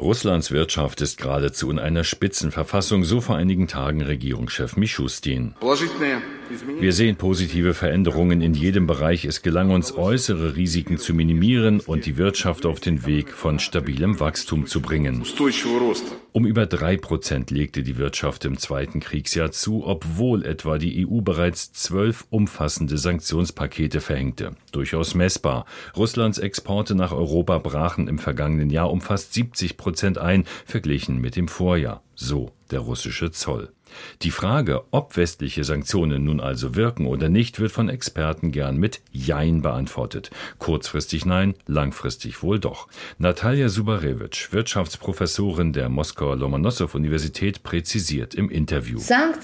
Russlands Wirtschaft ist geradezu in einer Spitzenverfassung, so vor einigen Tagen Regierungschef Mischustin. Wir sehen positive Veränderungen in jedem Bereich. Es gelang uns, äußere Risiken zu minimieren und die Wirtschaft auf den Weg von stabilem Wachstum zu bringen. Um über 3% legte die Wirtschaft im zweiten Kriegsjahr zu, obwohl etwa die EU bereits 12 umfassende Sanktionspakete verhängte. Durchaus messbar. Russlands Exporte nach Europa brachen im vergangenen Jahr um fast 70% ein, verglichen mit dem Vorjahr. So der russische Zoll. Die Frage, ob westliche Sanktionen nun also wirken oder nicht, wird von Experten gern mit Jein beantwortet. Kurzfristig nein, langfristig wohl doch. Natalja Subarewitsch, Wirtschaftsprofessorin der Moskauer Lomonossow-Universität, präzisiert im Interview.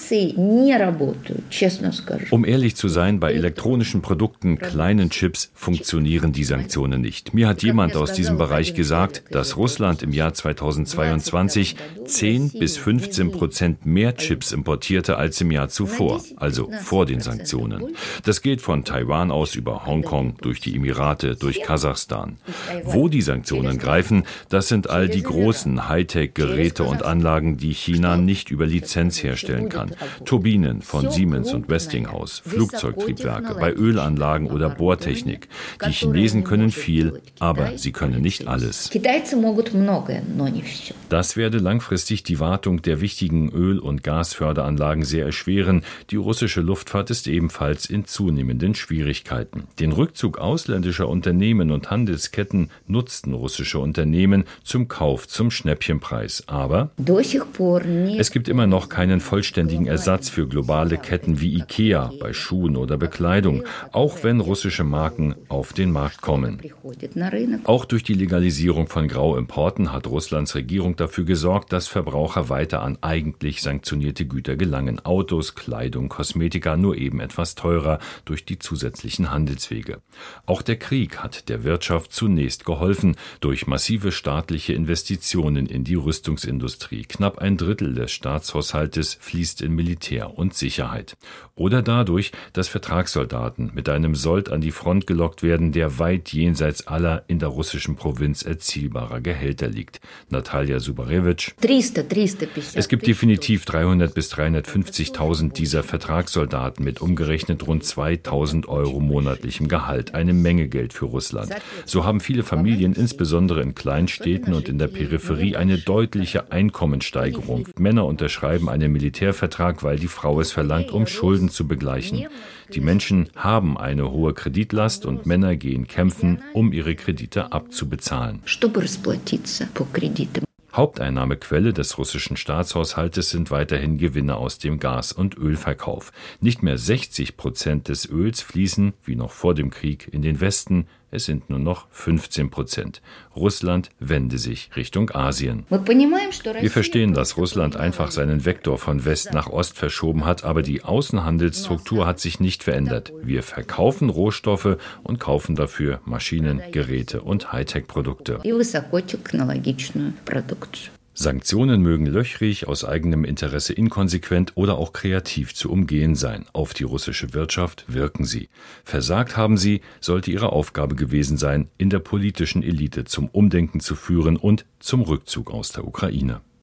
Um ehrlich zu sein, bei elektronischen Produkten, kleinen Chips, funktionieren die Sanktionen nicht. Mir hat jemand aus diesem Bereich gesagt, dass Russland im Jahr 2022 10-15% mehr Chips importierte als im Jahr zuvor, also vor den Sanktionen. Das geht von Taiwan aus über Hongkong, durch die Emirate, durch Kasachstan. Wo die Sanktionen greifen, das sind all die großen Hightech-Geräte und Anlagen, die China nicht über Lizenz herstellen kann. Turbinen von Siemens und Westinghouse, Flugzeugtriebwerke, bei Ölanlagen oder Bohrtechnik. Die Chinesen können viel, aber sie können nicht alles. Das werde langfristig die Wartung der wichtigen Öl- und Gasförderanlagen sehr erschweren. Die russische Luftfahrt ist ebenfalls in zunehmenden Schwierigkeiten. Den Rückzug ausländischer Unternehmen und Handelsketten nutzten russische Unternehmen zum Kauf zum Schnäppchenpreis. Aber es gibt immer noch keinen vollständigen Ersatz für globale Ketten wie IKEA bei Schuhen oder Bekleidung, auch wenn russische Marken auf den Markt kommen. Auch durch die Legalisierung von Grauimporten hat Russlands Regierung dafür gesorgt, dass Verbraucher weiter an eigentlich sanktionierte Güter gelangen. Autos, Kleidung, Kosmetika nur eben etwas teurer durch die zusätzlichen Handelswege. Auch der Krieg hat der Wirtschaft zunächst geholfen durch massive staatliche Investitionen in die Rüstungsindustrie. Knapp ein Drittel des Staatshaushaltes fließt in Militär und Sicherheit. Oder dadurch, dass Vertragssoldaten mit einem Sold an die Front gelockt werden, der weit jenseits aller in der russischen Provinz erzielbarer Gehälter liegt. Natalja Subarewitsch. Es gibt definitiv 300.000 bis 350.000 dieser Vertragssoldaten mit umgerechnet rund 2.000 Euro monatlichem Gehalt. Eine Menge Geld für Russland. So haben viele Familien, insbesondere in Kleinstädten und in der Peripherie, eine deutliche Einkommenssteigerung. Männer unterschreiben einen Militärvertrag, weil die Frau es verlangt, um Schulden zu begleichen. Die Menschen haben eine hohe Kreditlast und Männer gehen kämpfen, um ihre Kredite abzubezahlen. Haupteinnahmequelle des russischen Staatshaushaltes sind weiterhin Gewinne aus dem Gas- und Ölverkauf. Nicht mehr 60% des Öls fließen, wie noch vor dem Krieg, in den Westen. Es sind nur noch 15%. Russland wende sich Richtung Asien. Wir verstehen, dass Russland einfach seinen Vektor von West nach Ost verschoben hat, aber die Außenhandelsstruktur hat sich nicht verändert. Wir verkaufen Rohstoffe und kaufen dafür Maschinen, Geräte und Hightech-Produkte. Sanktionen mögen löchrig, aus eigenem Interesse inkonsequent oder auch kreativ zu umgehen sein. Auf die russische Wirtschaft wirken sie. Versagt haben sie, sollte ihre Aufgabe gewesen sein, in der politischen Elite zum Umdenken zu führen und zum Rückzug aus der Ukraine.